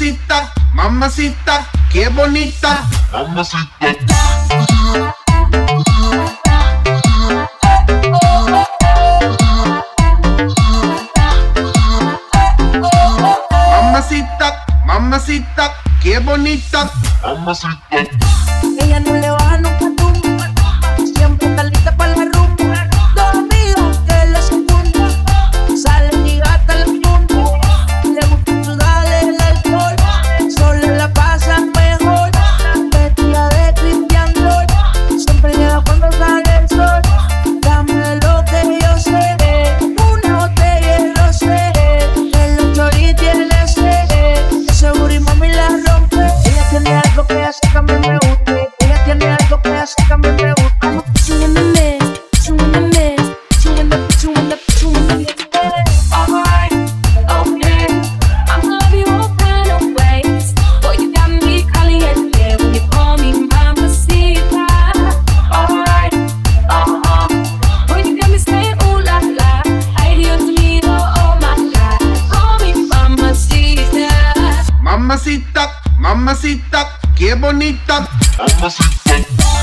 Mamacita, mamacita, qué bonita. Mamacita. Mamacita, mamacita, qué bonita. Mamacita. Ella no le baja nunca tumba, siempre está lista para la rumba. Dos amigos que la secundan, salen y gastan la punta. Le gusta sudarle el alcohol, solo la pasan mejor. Vestida de Christian Dior, siempre llega cuando sale el sol. Dame lo que yo sé, una botella y lo sé. Que los choris tiene sed, seguro y mami la rompe. Ella tiene algo que hace que a mí me guste. Ella tiene algo que hace que a mí me guste. I'm pushing in the mist, pushing in the mist, pushing in the, pushing in the, pushing in the mist. Alright, okay, I'ma love you all kind of ways. Boy, you got me caliente when you call me mamacita. Alright, boy, you got me saying ooh la la. Ay, Dios mío, oh my God, call me mamacita. Mamacita, mamacita, qué bonita. Mamacita.